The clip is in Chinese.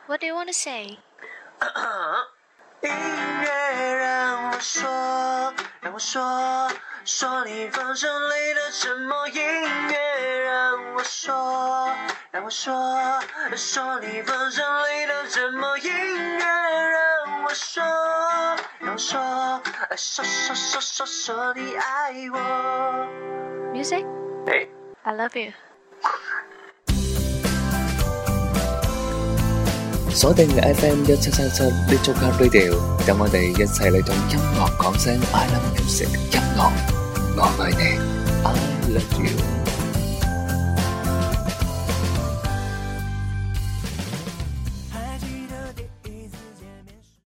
What do you want to say? 音乐让我说，让我说，说你放声里的沉默。音乐让我说，让我说，说你放声里的沉默。音乐让我说，让我说，说你爱我。 Music? Hey. I love you. 鎖定 FM 1737 Little Car Radio， 等我哋一齊嚟同音樂講聲 I love music， 音樂我愛你 I love you。